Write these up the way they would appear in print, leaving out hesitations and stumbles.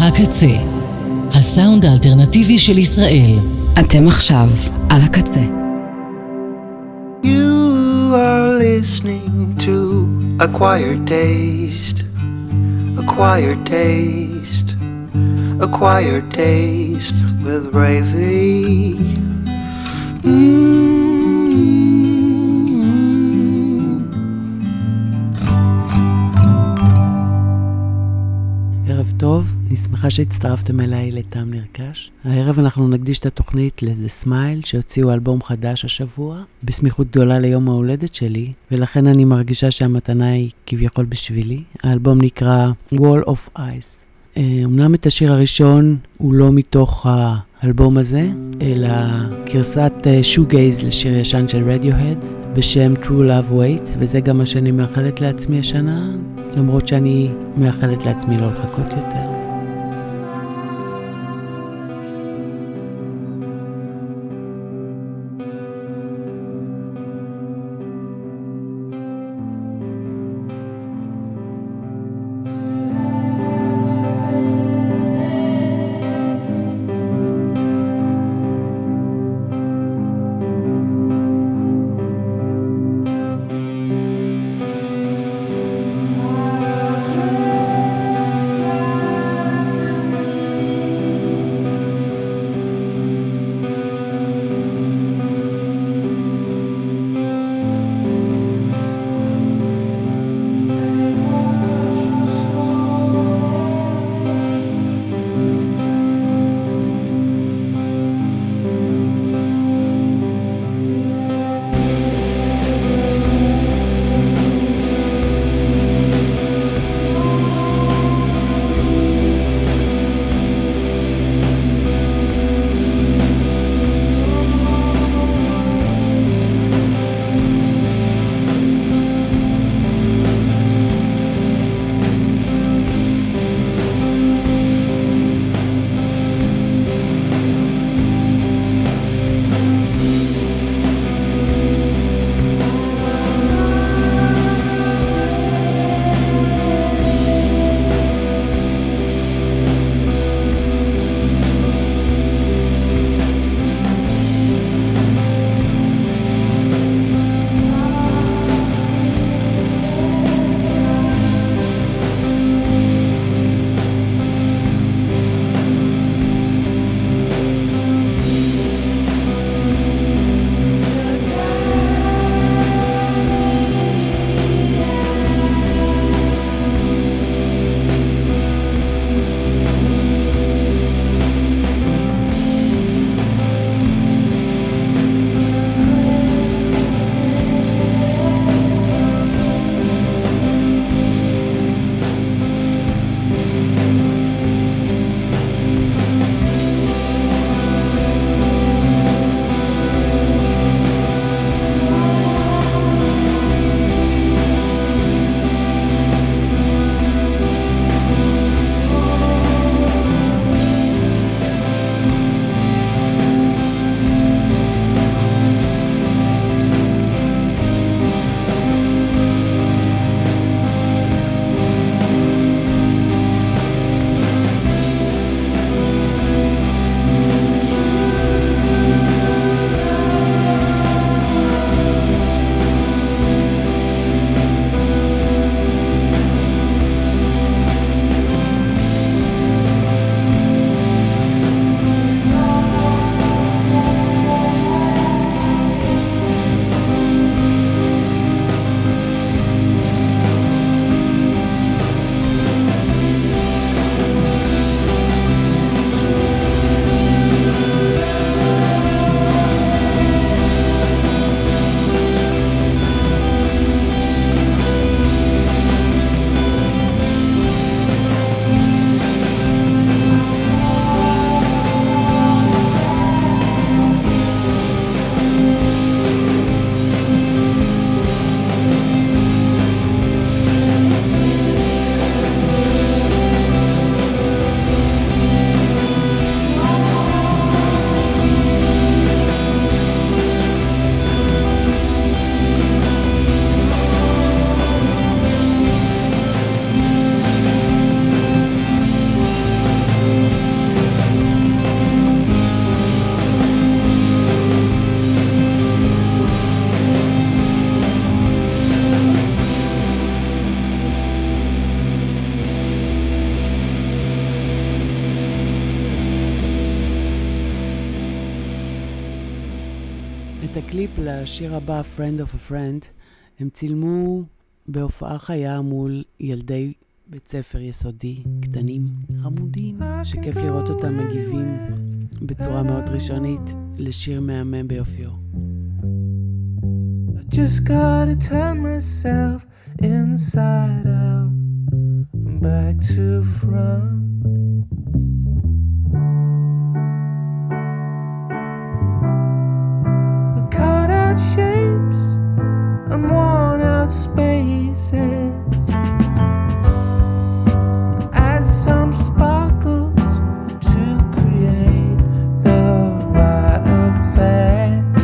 הקצה, הסאונד האלטרנטיבי של ישראל. אתם עכשיו על הקצה. You are listening to Acquired Taste, Acquired Taste, Acquired Taste with Ravy. ערב טוב, אני שמחה שהצטרפתם אליי לטעם נרכש. הערב אנחנו נקדיש את התוכנית ל-The Smile שהוציאו אלבום חדש השבוע, בסמיכות גדולה ליום ההולדת שלי, ולכן אני מרגישה שהמתנה היא כביכול בשבילי. האלבום נקרא Wall of Ice. אמנם את השיר הראשון הוא לא מתוך האלבום הזה, אלא גרסת שוגייז לשיר ישן של Radiohead בשם True Love Waits, וזה גם מה שאני מאחלת לעצמי השנה, למרות שאני מאחלת לעצמי לא לחכות יותר. את הקליפ לשיר הבא, Friend of a Friend, הם צילמו בהופעה חיה מול ילדי בית ספר יסודי, קטנים, חמודים, שכיף לראות אותם מגיבים בצורה מאוד ראשונית לשיר מהמם ביופיו. I just gotta turn myself inside out and back to front. Cut out shapes and worn out spaces. Add some sparkles to create the right effect.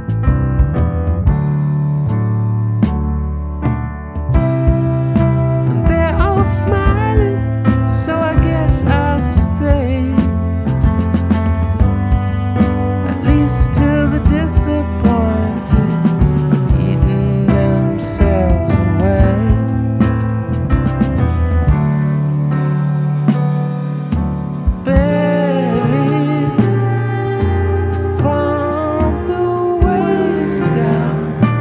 And they're all smiling, so I guess I'll stay. At least till the disappointed have eaten themselves away. Buried from the waist down.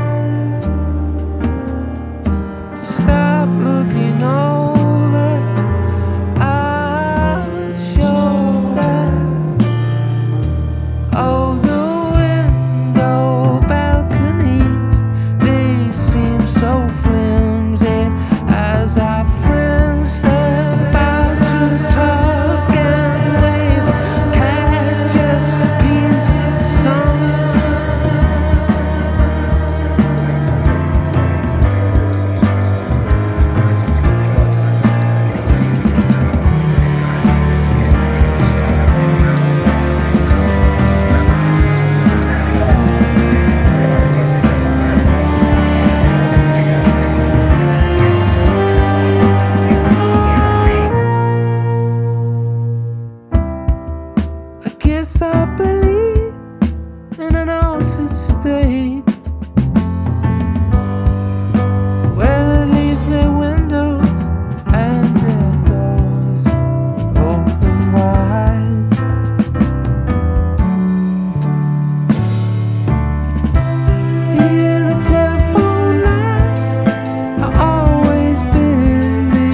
Stop looking over our shoulder. Oh, the window balconies, they seem so flimsy as our friends step out to talk and wave, catch a piece of sun. I guess I believe in an altered state where they leave their windows and their doors open wide. Here the telephone lines are always busy,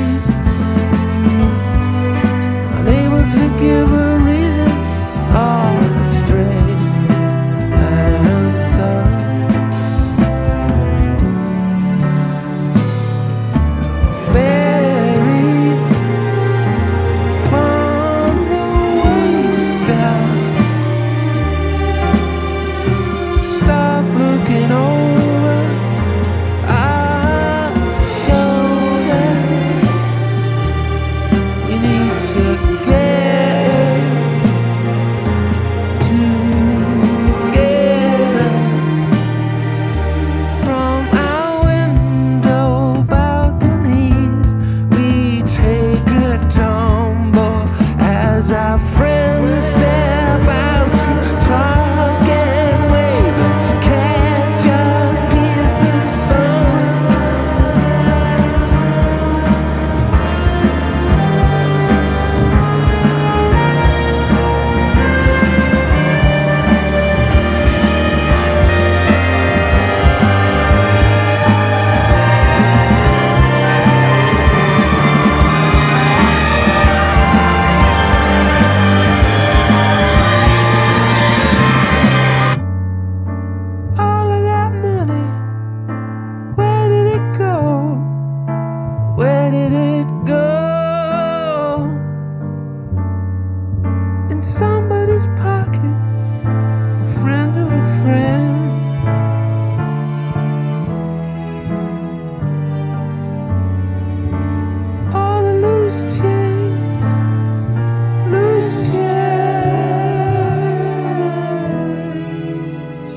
unable to give a reason or a straight answer. Buried from the waist down. Stop looking over our shoulder. We need to get together. From our window balconies, we take a tumble as our friends step out to talk and wave and catch a piece of sun. All of that money, where did it go? Where did it go? In somebody's pocket, a friend of a friend. All the loose change, loose change.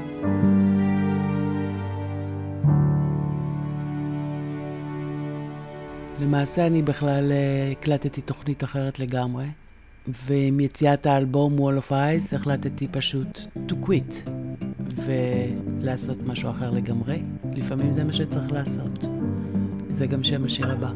למעשה אני בכלל הקלטתי תוכנית אחרת לגמרי, ועם יציאת האלבום Wall of Ice החלטתי פשוט to quit ולעשות משהו אחר לגמרי. לפעמים זה מה שצריך לעשות. זה גם שם השיר הבא.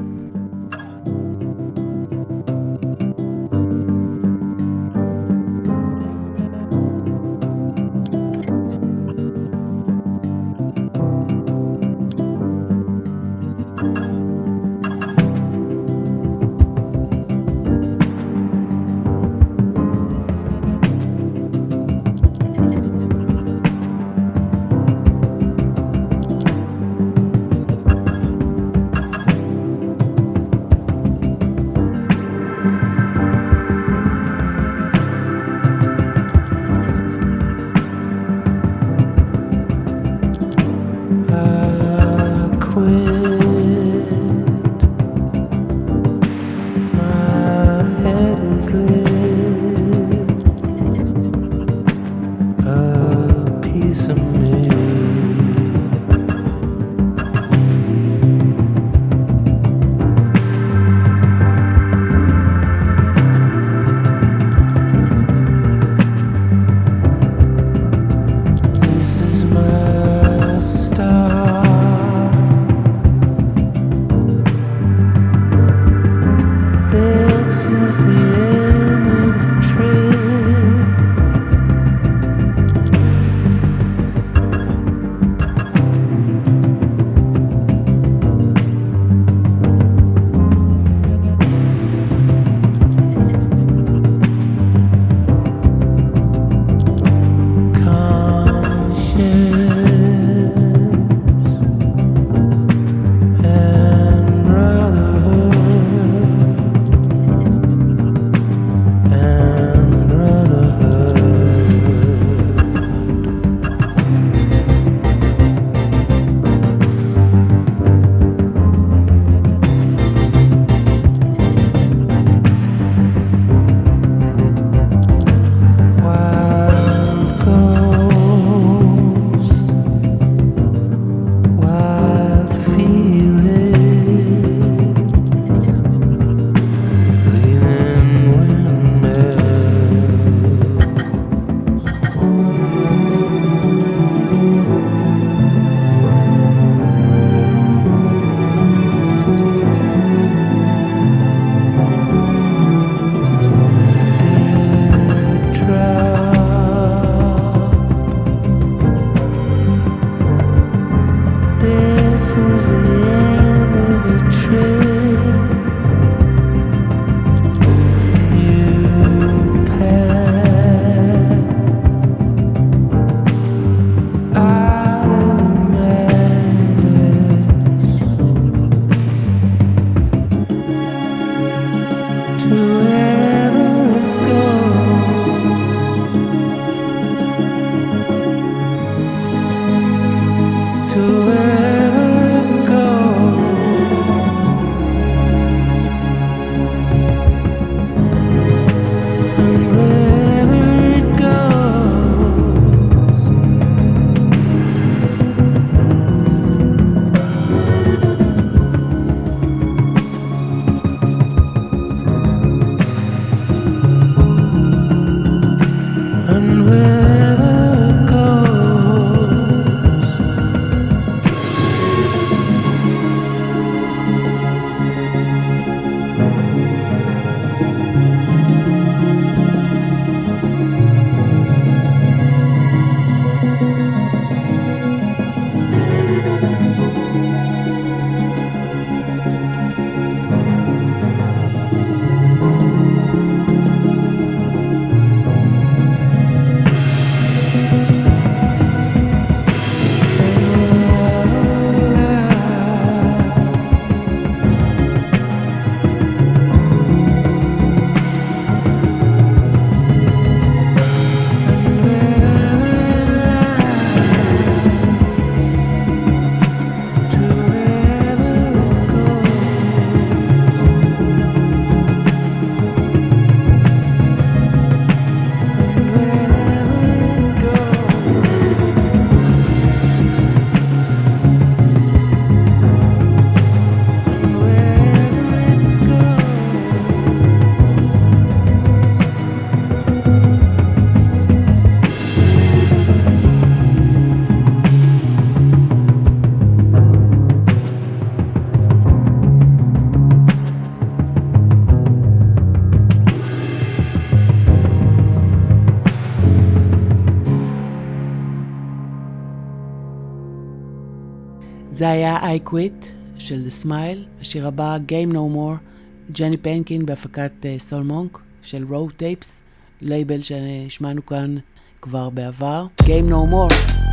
זה היה I Quit של The Smile. השיר הבא, Game No More, ג'ני פנקין בהפקת סול מונק של Road Tapes, לייבל שהשמענו כאן כבר בעבר. Game No More.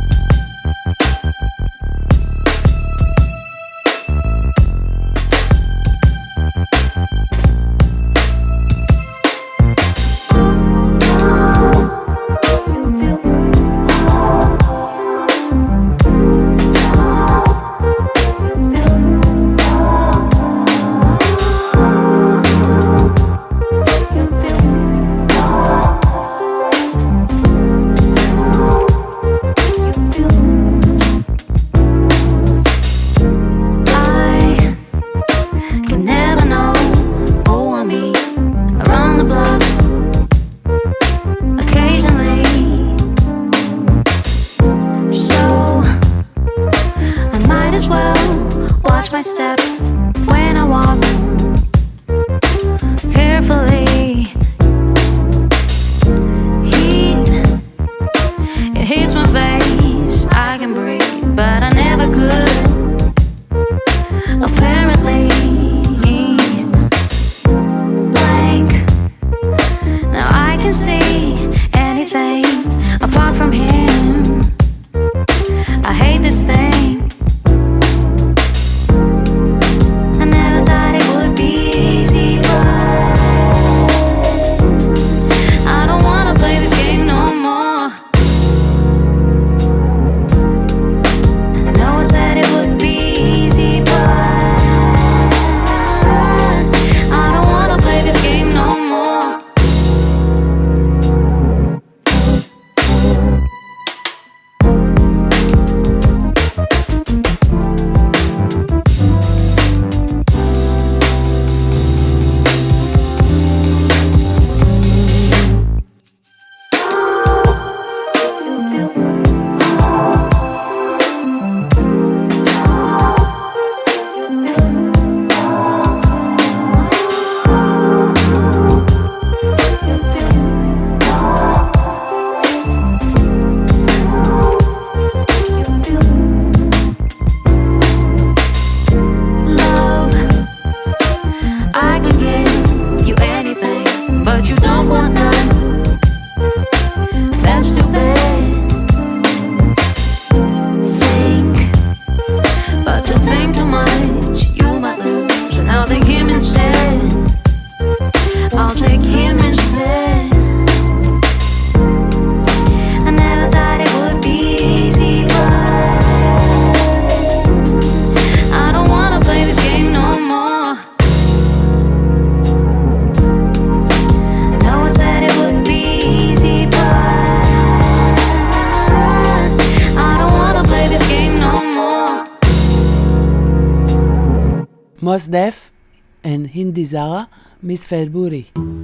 Mos Def and Hindi Zara, Miss Fedburi.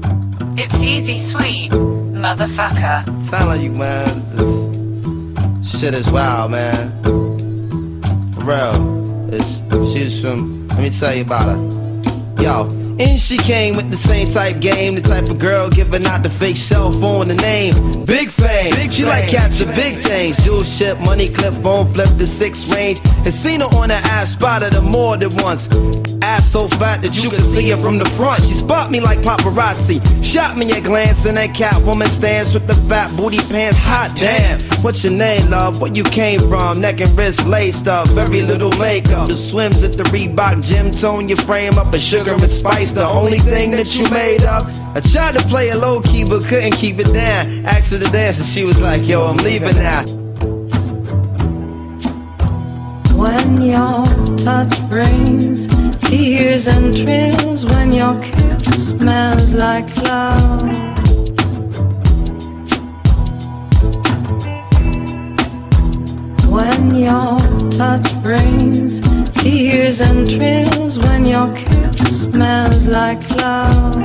It's easy sweet, motherfucker. Sound like you, man. This shit is wild, man. For real. She's from, let me tell you about her. Yo. And she came with the same type game, the type of girl giving out the fake cell phone, the name Big Fame. She like catching big things, jewel ship, money clip, phone flip, the 6 range. Has seen her on the ass, spotted her more than once. Ass so fat that you can see her from the front. She spot me like paparazzi, shot me a glance, and that Catwoman stance with the fat booty pants. Hot damn, what's your name, love? Where you came from? Neck and wrist laced up, very little makeup. The swims at the Reebok gym, tone your frame up, a sugar and spice, the only thing that you made up. I tried to play it low key but couldn't keep it down. Asked her to dance and she was like, yo, I'm leaving now. When your touch brings tears and thrills, when your kiss smells like love, when your touch brings tears and thrills, when your kiss smells like love.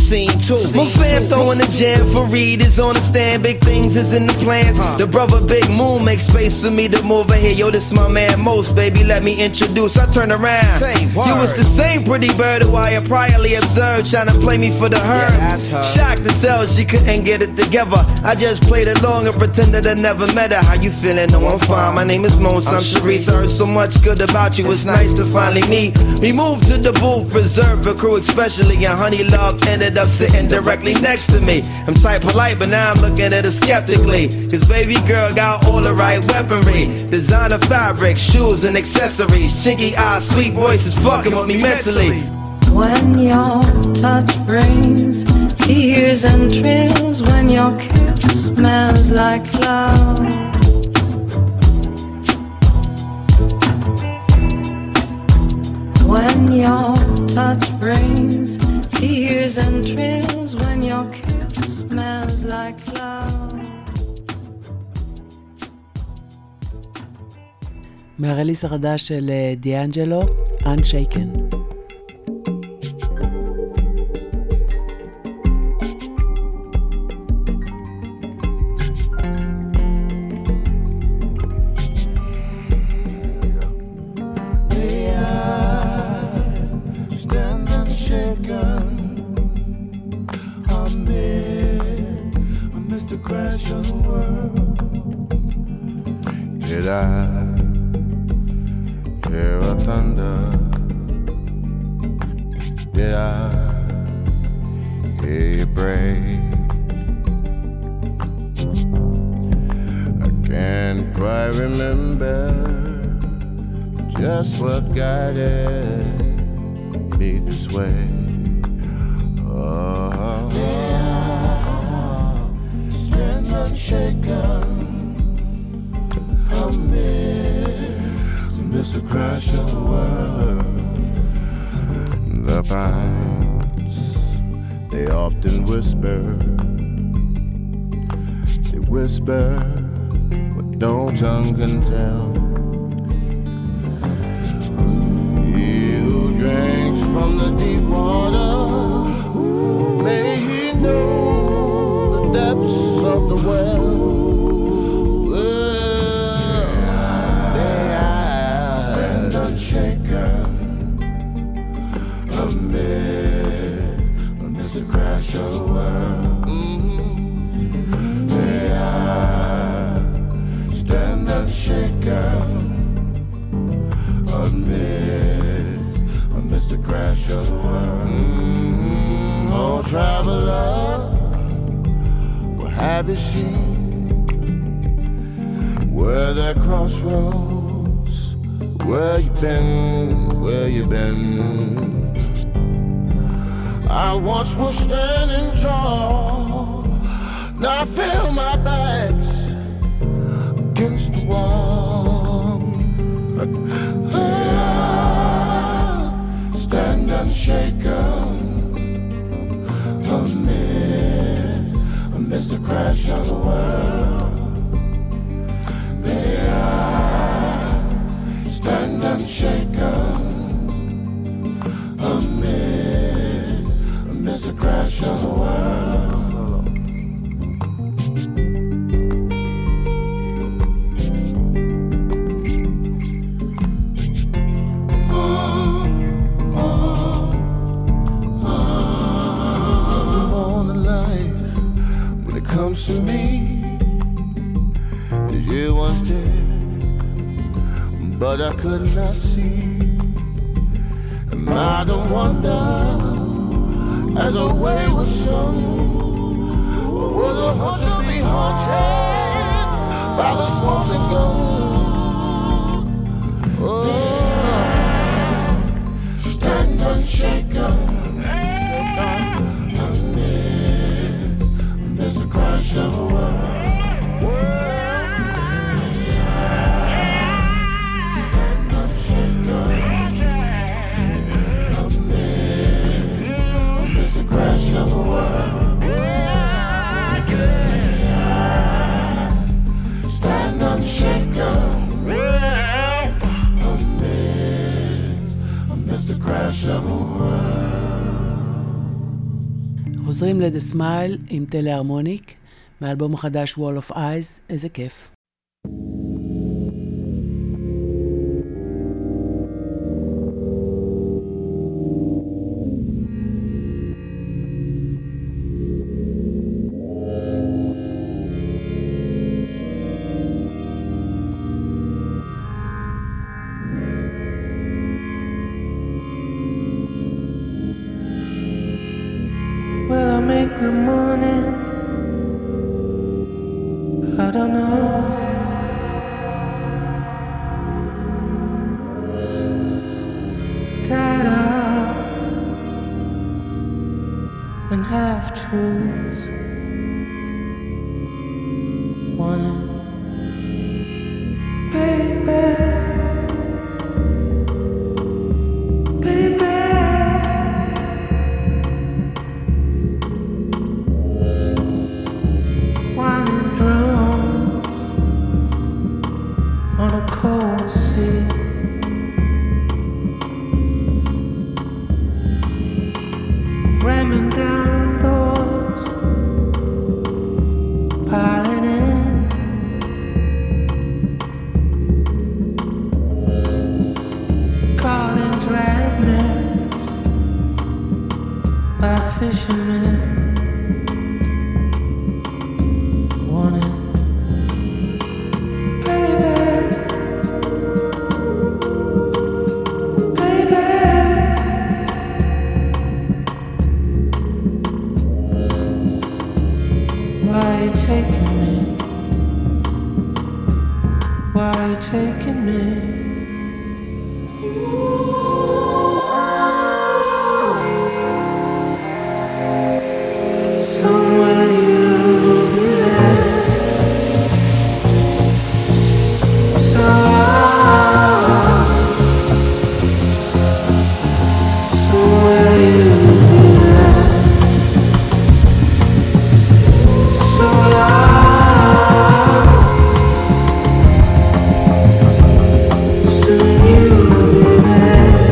scene too. My fam throwing the jam for Reed is on the stand. Big things is in the plans. The brother Big Moon makes space for me to move in here. Yo, this my man Most, baby, let me introduce. I turn around. You was the same pretty bird who I had priorly observed, trying to play me for the herd. Shocked to tell she couldn't get it together. I just played along and pretended I never met her. How you feeling? No, I'm fine. My name is Most. I'm Sharice. I heard so much good about you. It's nice to finally meet. We moved to the booth, reserved for crew especially, and Honey Love ended up sitting directly next to me. I'm type polite, but now I'm looking at her skeptically, cause baby girl got all the right weaponry. Designer fabric, shoes and accessories. Chinky eyes, sweet voices, fucking with me mentally. When your touch brings tears and thrills, when your kiss smells like love, when your touch brings tears and thrills, when your kiss smells like love. מהרליס החדש של דיאנג'לו, Unshaken. חוזרים ל-The Smile עם טלהרמוניק, מאלבום החדש Wall of Eyes, איזה כיף. Will I make the morning? I don't know. Tied up and half truths. Wanting, baby, baby. Winding drums on a cold sea. Ramming down doors, piling in. Caught in dragnets by fishermen. Wanting, baby, baby. Why are you taking me? Why are you taking me? Somewhere you'll be there. Somewhere you'll be there. So soon you'll be there.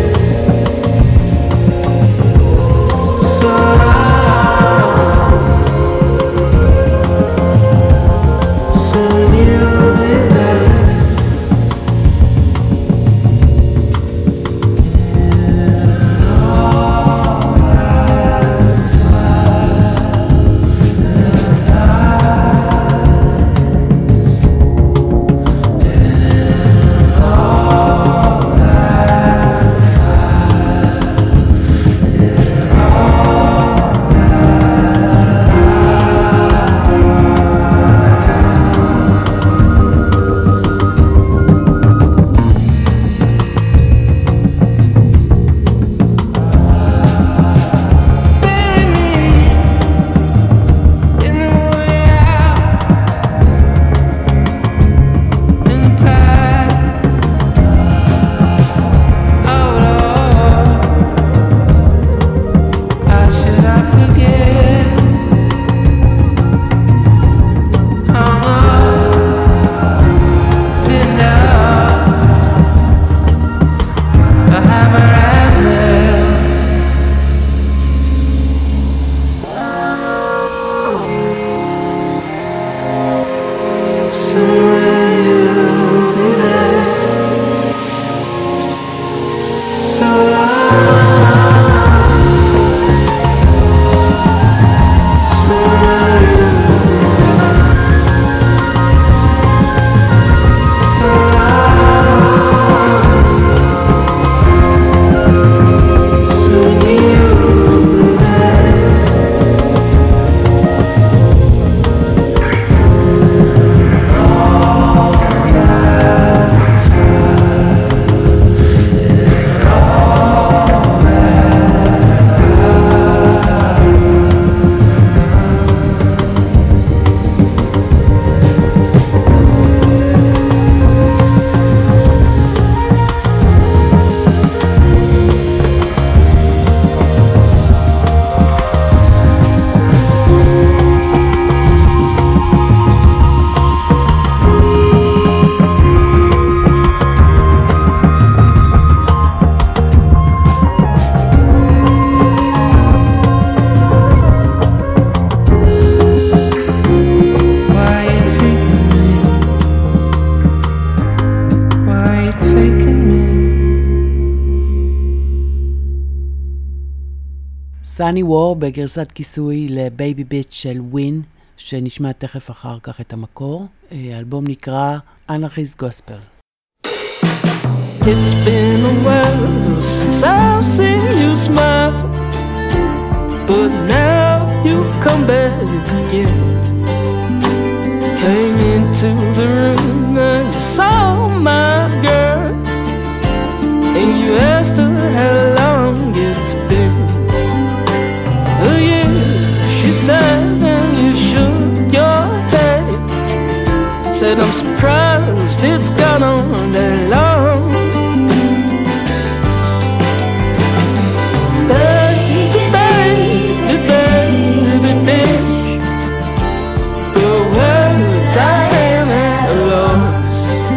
סני וור בגרסת כיסוי לבייבי ביץ' של ווין, שנשמע תכף אחר כך את המקור. האלבום נקרא Anarchist Gospel. It's been a while since I've seen you smile, but now you've come back again. Came into the room and you saw my girl, and you asked her how long it's been. Oh yeah, she said, and you shook your head. Said, I'm surprised it's gone on that long. Baby, baby, baby, bitch, for words I am at a loss.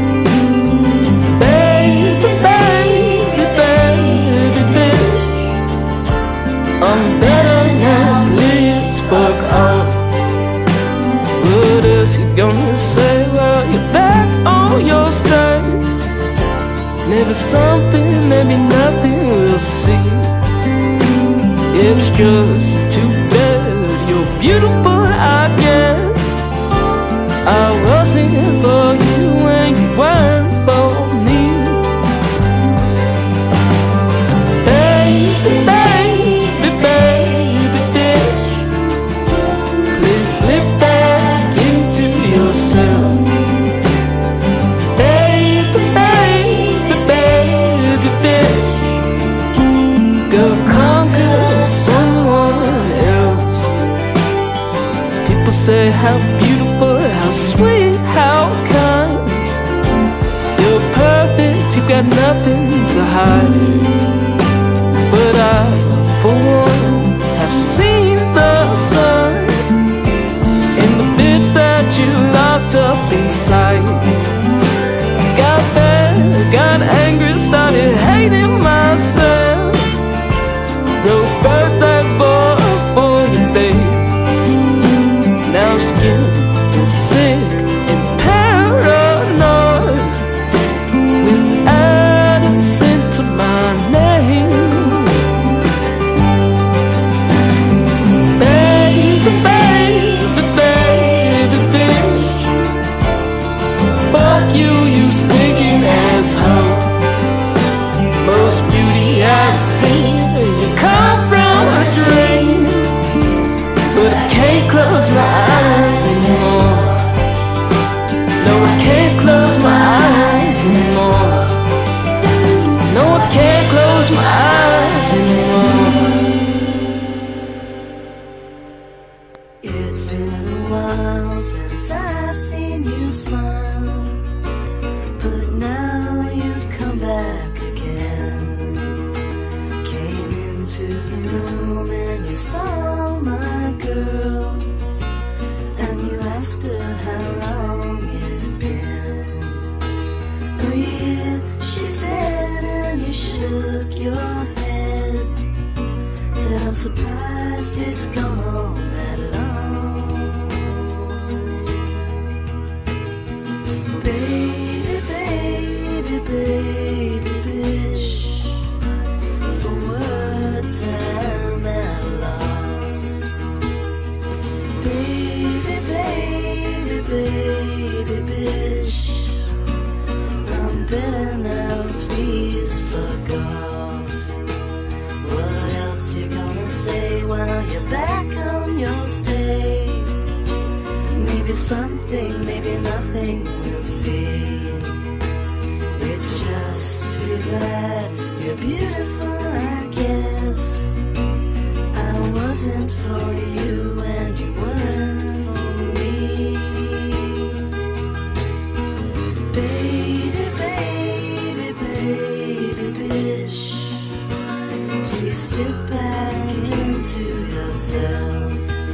Baby, baby, baby, bitch, I'm better now, please fuck off. What is he gonna say? Well, you're back on your stay. Maybe something, maybe nothing, we'll see. It's just too bad you're beautiful, I guess. I wasn't for you and you weren't for me. Baby, baby, baby, bitch, please slip back into yourself. Baby, baby, baby, bitch, go conquer someone else. People say how beautiful, how sweet, how kind. You're perfect, you got nothing to hide. But I, for one, have seen the sun in the bitch that you locked up inside. Got bad, got angry, started hating myself. Wrote birthday boy for you, babe. Now I'm scared and sick and paranoid, with Addison to my name. Baby, baby, baby, bitch, fuck you, you stinking asshole. Most beauty I've seen, you come from a dream, but I can't close my eyes anymore. No, I can't close my eyes anymore. No, I can't close my eyes anymore. It's been a while since I've seen you smile, but now you've come back again. Came into the room and you saw my girl, and you asked her how long it's been. Oh yeah, she said, and you shook your head. Said, I'm surprised it's gone on that long. Baby, baby, baby, bitch, for words I'm at a loss. Baby, baby, baby, bitch, I'm better now, please fuck off. What else you gonna say while you're back on your stay? Maybe something, maybe nothing, we'll see. It's just too bad you're beautiful, I guess. I wasn't for you and you weren't for me. Baby, baby, baby, bitch, please slip back into yourself.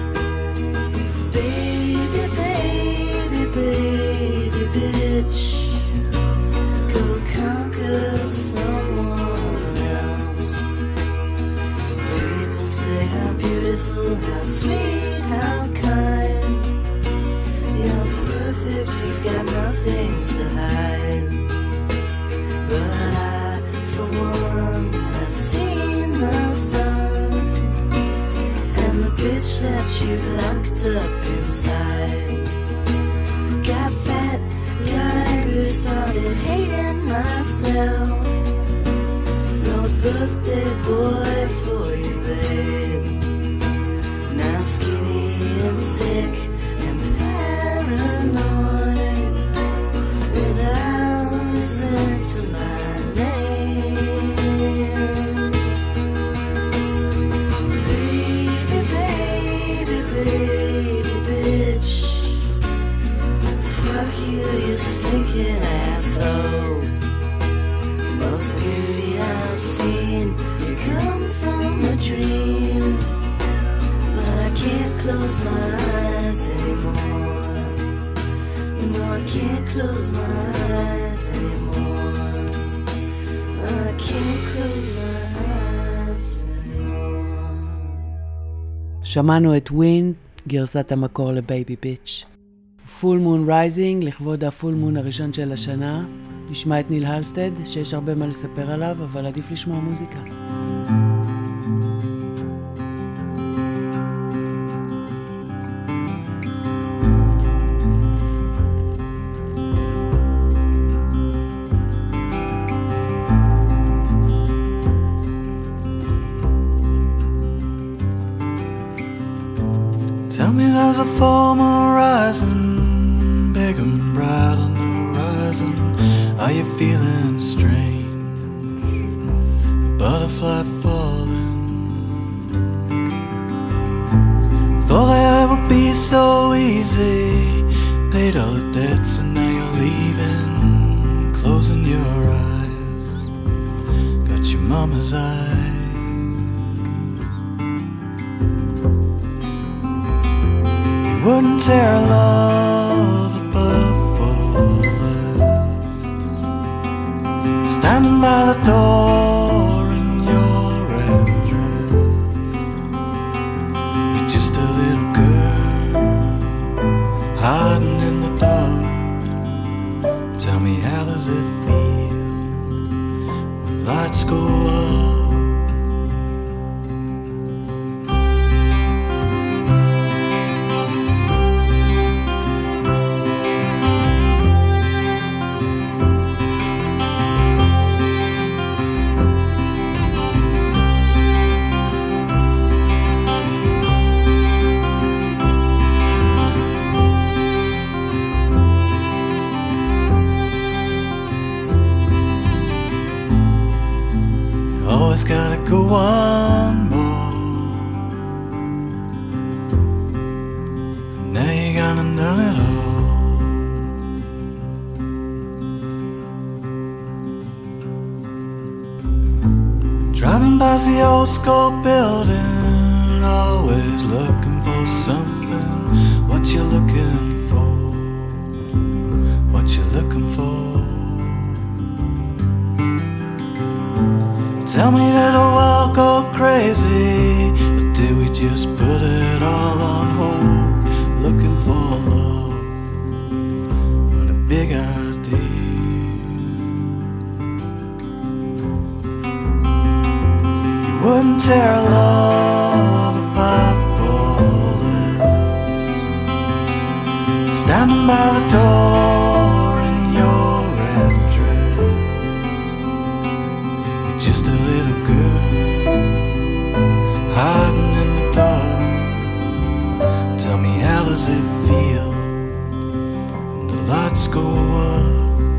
Baby, baby, baby, bitch, go conquer someone else. People say how beautiful, how sweet, how kind. You're perfect, you've got nothing to hide. But I, for one, have seen the sun myself. No birthday boy for you, babe. Now skinny and sick and paranoid, without a sense of my name. Baby, baby, baby, bitch. Fuck you, you stinking asshole. Most beauty I've seen, you come from a dream. But I can't close my eyes anymore. No, I can't close my eyes anymore. I can't close my eyes anymore. שמענו את ווינד, גרסת המקור לבייבי ביץ'. פול מון רייזינג, לכבוד הפול מון הראשון של השנה. נשמע את ניל הלסטד, שיש הרבה מה לספר עליו, אבל עדיף לשמוע מוזיקה. Tell me there's a former rising, big and bright on the horizon. Are you feeling strange? A butterfly falling. Thought it would be so easy. Paid all the debts and now you're leaving. Closing your eyes. Got your mama's eyes. Wouldn't tear love above for less. Standing by the door in your red dress. You're just a little girl hiding in the dark. Tell me, how does it feel when lights go up? Always gotta go one more. Now you gone and done it all. Driving past the old school building, always looking for something. What you looking for? What you looking for? Tell me, did the world go crazy, or did we just put it all on hold? Looking for love and a big idea. You wouldn't tear love apart for less. Standing by the door in your red dress. You're just a little girl hiding in the dark. Tell me, how does it feel when the lights go up?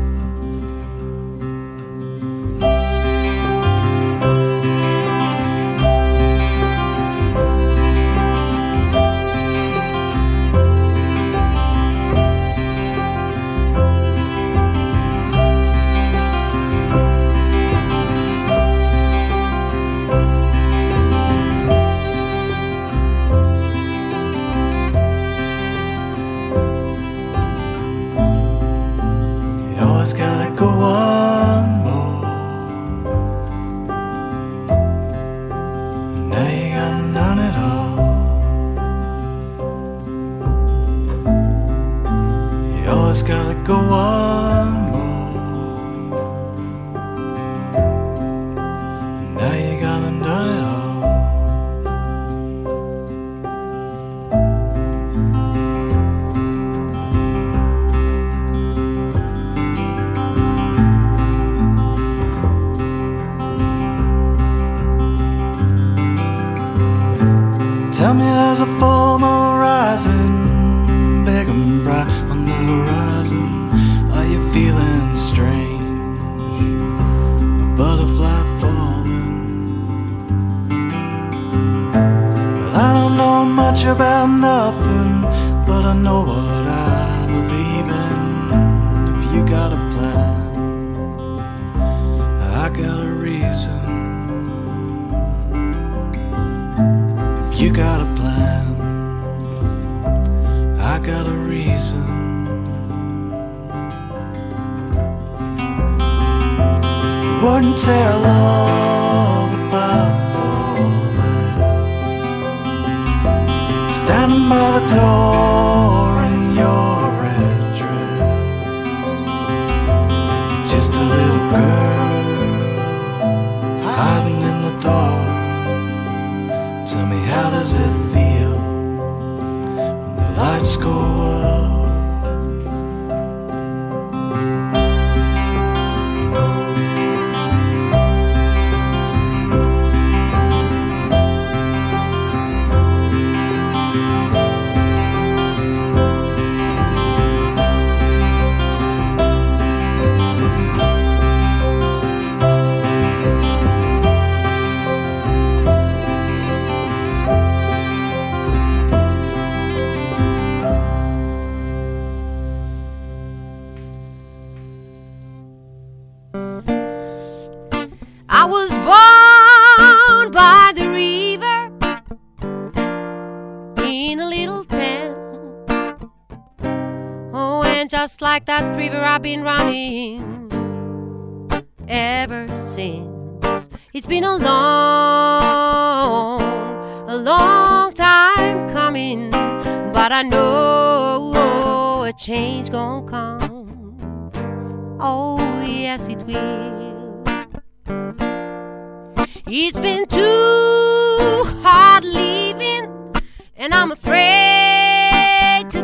Gotta go one more. Now you gone done it all. You always gotta go one more. Now you gone and done it all. Tell me there's a full moon rising, big and bright on the horizon. Are you feeling strange? A butterfly falling. Well, I don't know much about nothing, but I know what I believe in. If you got a plan, I got a reason. If you got a plan, I got a reason. You wouldn't tear love apart for that. Standing by the door in your red dress, just a little girl hiding in the dark. Tell me, how does it feel when the lights go up? I was born by the river in a little town. Oh, and just like that river I've been running ever since. It's been a long time coming, but I know a change gonna come. Oh, yes it will. It's been too hard living, and I'm afraid to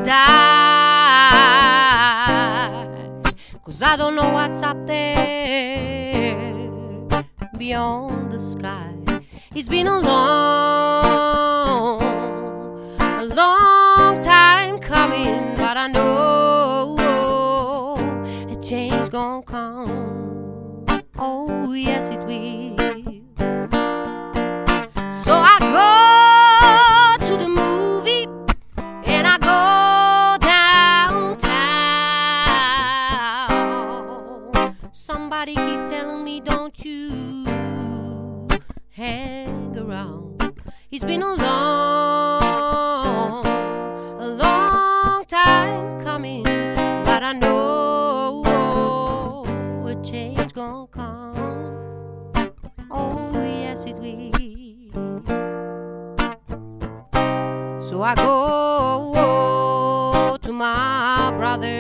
die, 'cause I don't know what's up there beyond the sky. It's been a long time coming, but I know a change gonna come. Oh, yes it will. So I go to the movie and I go downtown. Somebody keep telling me, don't you hang around. It's been a long time coming, but I know a change gonna come. Oh, yes it will. So I go to my brother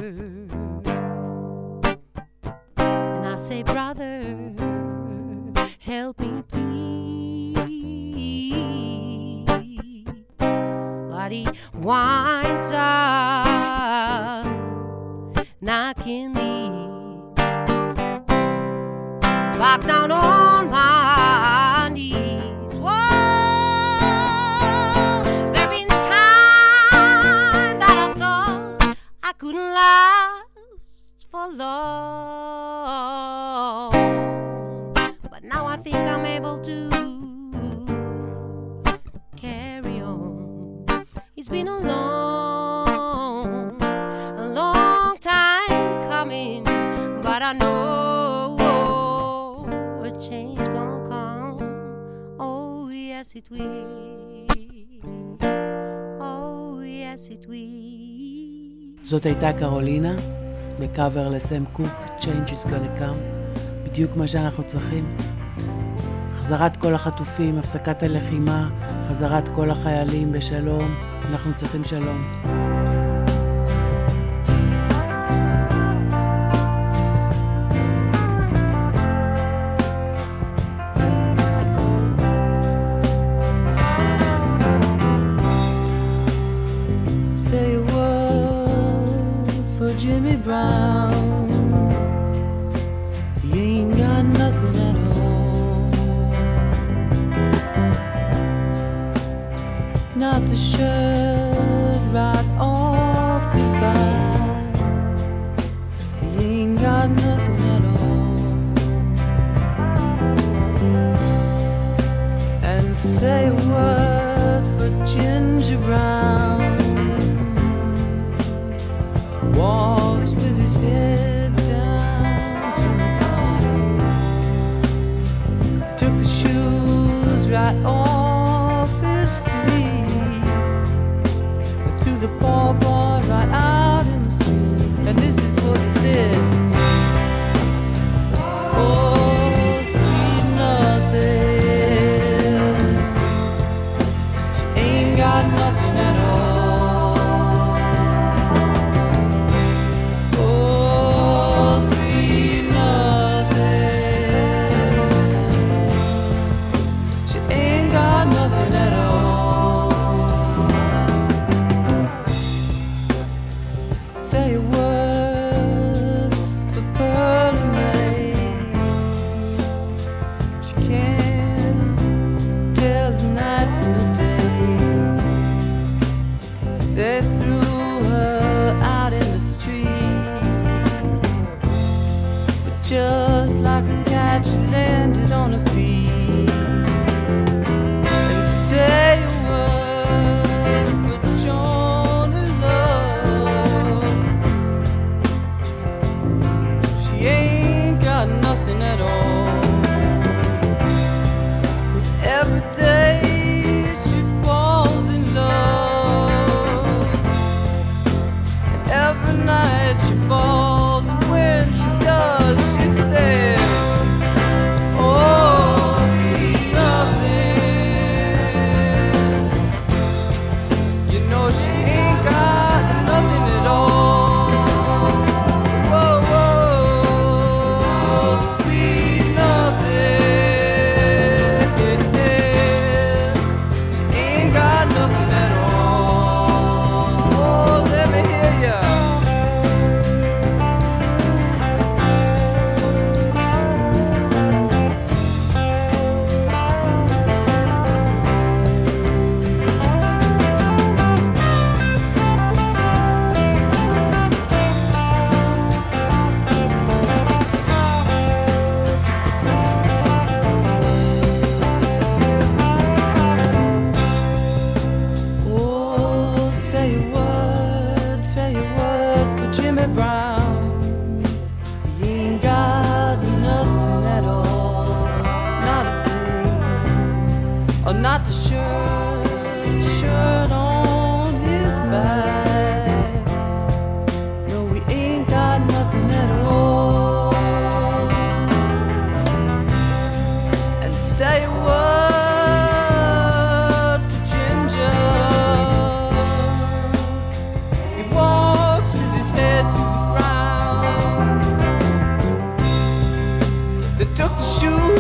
and I say, brother, help me please. But he winds up knocking me back down on my knees. Whoa. Couldn't last for long, but now I think I'm able to carry on. It's been a long time coming, but I know a change gonna come. Oh, yes it will. Oh, yes it will. זאת הייתה קרולינה, בקאבר לסם קוק, Change is gonna come, בדיוק מה שאנחנו צריכים. חזרת כל החטופים, הפסקת הלחימה, חזרת כל החיילים בשלום, אנחנו צריכים שלום. Jimmy Brown, he ain't got nothing at all. got off his feet to the poor boy right out in the street, and this is what he said. Oh, sweet nothing, she ain't got nothing at all. Oh, sweet nothing, she ain't got nothing at all. Say a word for Pearl and May. She can't tell the night from the day. They threw her out in the street, but just like a cat, she landed on her feet. And say a word for Joan and love. She ain't got nothing at all. With every day she falls in love, and every night she falls, and when she does, she says, oh, sweet nothing. You know she ain't got nothing at all. Whoa, whoa, sweet nothing. She ain't got nothing at all. Oh, let me hear ya. Oh, say a word for Jimmy Brown. He ain't got nothing at all, not a thing, or not the shirt on his back. No, we ain't got nothing at all. And say a word for Ginger. He walks with his head to the ground. They took the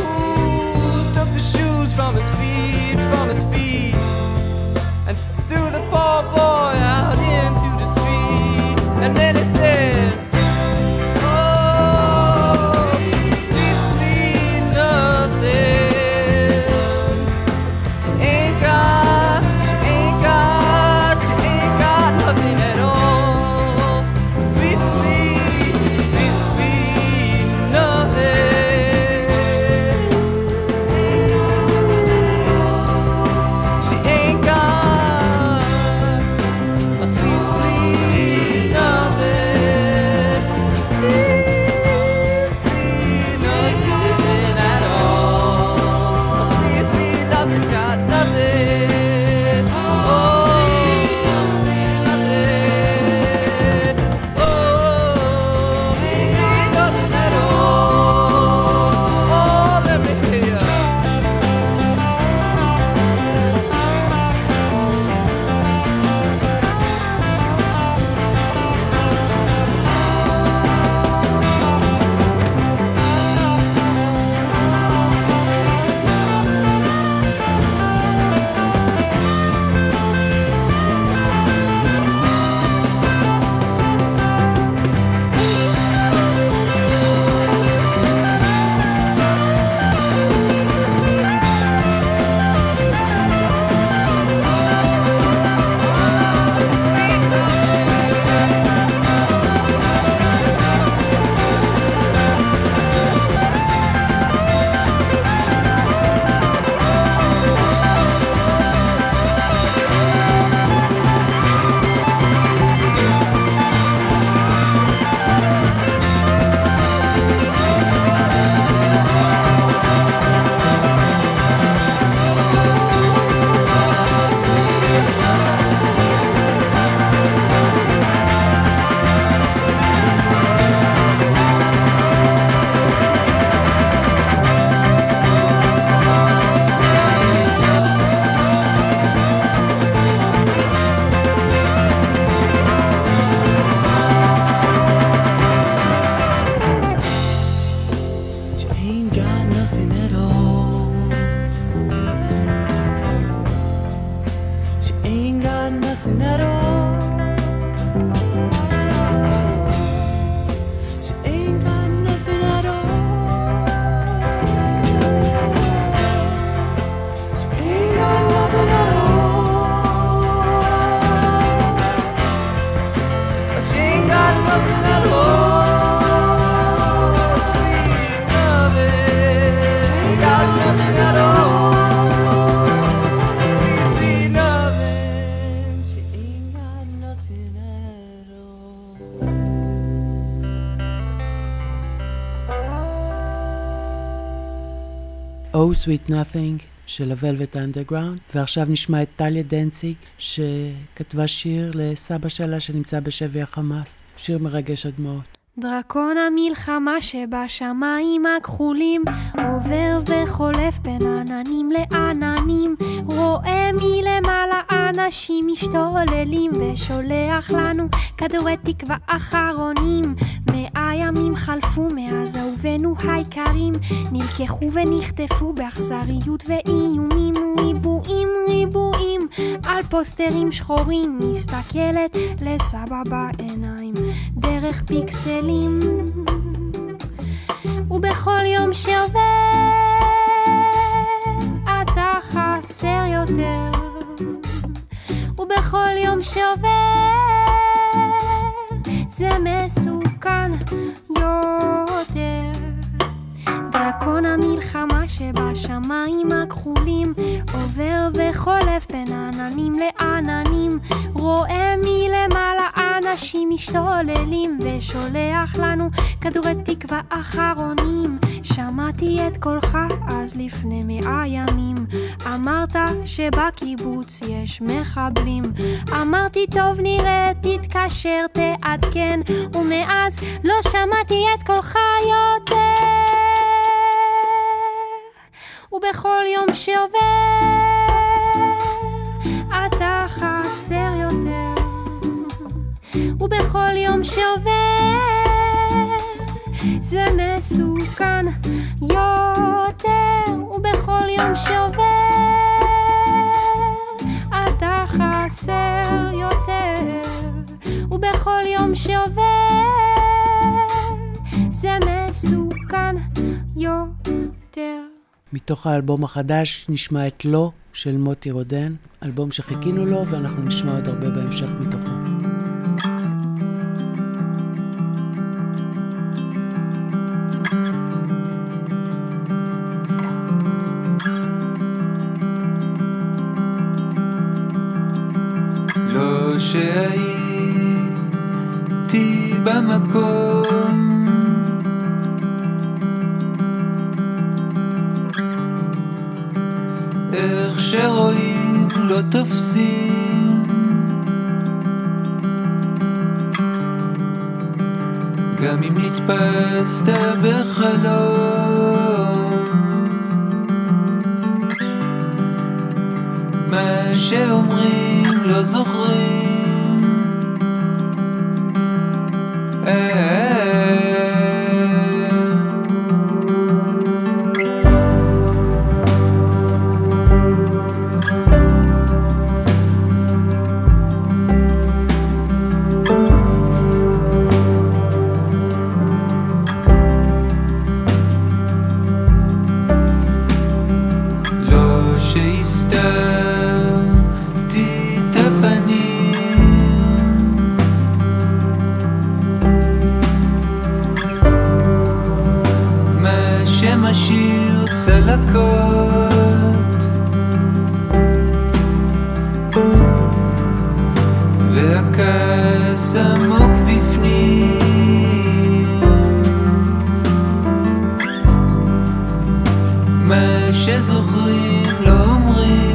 shoes from his feet, and threw the poor boy out into the street. And then he said, oh, sweet, sweet nothing. She ain't got nothing at all. Sweet, sweet, sweet, sweet nothing. Oh Sweet Nothing של ה-Velvet Underground, ועכשיו נשמע את טליה דנציג שכתבה שיר לסבא שלה שנמצא בשבי החמאס, שיר מרגש עד מאוד. דרקון המלחמה שבשמיים הכחולים עובר וחולף בין עננים לעננים, רואה מלמעלה אנשים משתוללים ושולח לנו כדורי תקווה אחרונים. 100 ימים חלפו מאז אהובינו היקרים נלקחו ונחטפו באכזריות ואיומים, ריבועים על פוסטרים שחורים, מסתכלת לסבא בעיניים דרך פיקסלים, ובכל יום שעובר אתה חסר יותר, ובכל יום שעובר זה מסוכן יותר. דרקון המלחמה שבשמיים הכחולים עובר וחולף בין עננים לעננים, רואה מלמעלה אנשים משתוללים ושולח לנו כדורי תקווה אחרונים. שמעתי את קולך אז לפני 100 ימים, אמרת שבקיבוץ יש מחבלים, אמרתי טוב נראה תתקשר תעדכן, ומאז לא שמעתי את קולך יותר. ובכל יום שעובר אתה חסר יותר, ובכל יום שעובר זה מסוכן יותר, ובכל יום שעובר אתה חסר יותר, ובכל יום שעובר זה מסוכן יותר. מתוך האלבום החדש נשמע את לא של מוטי רודן, אלבום שחיכינו לו ואנחנו נשמע עוד הרבה בהמשך מתוכו. לא שהייתי במקום איך שרואים לא תופסים, גם אם נתפסת בחלום, מה שאומרים לא זוכרים. משאיר צלקות, והכעס עמוק בפנים, מה שזוכרים לא אומרים.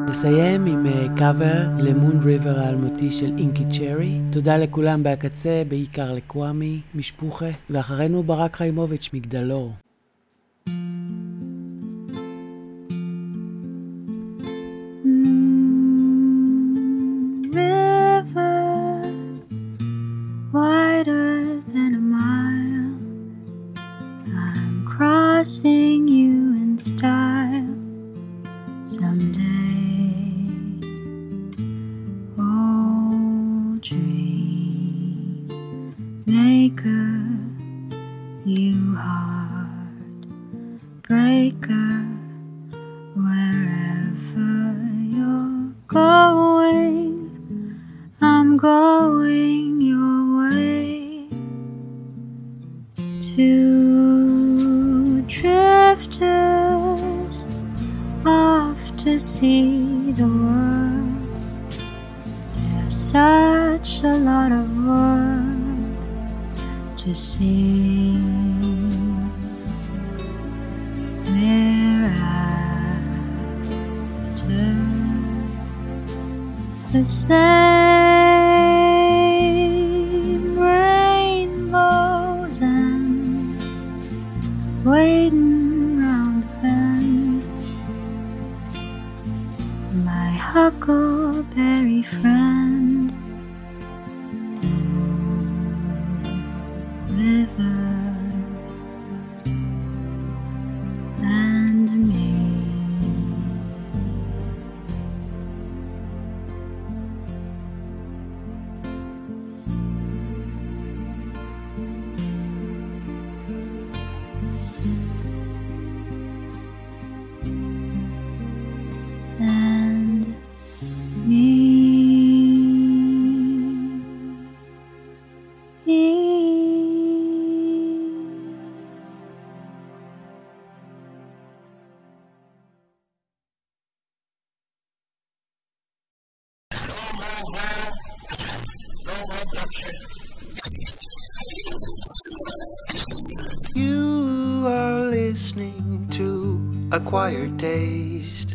נסיים עם קאבר למון ריבר האלמותי של אינקי צ'רי. תודה לכולם בהקצה, בעיקר לקוואמי, משפוחה, ואחרינו ברק חיימוביץ' מגדלור. Wider than a mile, I'm crossing you in style someday. Oh, dream maker, you heart breaker, wherever you're going, I'm going your way. Two drifters off to see the world. There's such a lot of world to see. We're after the same rainbows and waiting round the bend. My huckleberry friend, river and me. And me. You are listening to Acquired Taste.